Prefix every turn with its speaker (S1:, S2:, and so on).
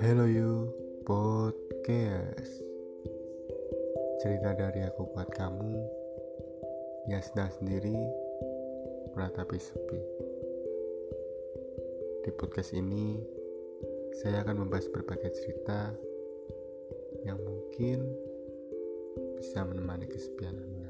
S1: Hello you podcast. Cerita dari aku buat kamu yang sedang sendiri meratapi sepi. Di podcast ini saya akan membahas berbagai cerita yang mungkin bisa menemani kesepianmu.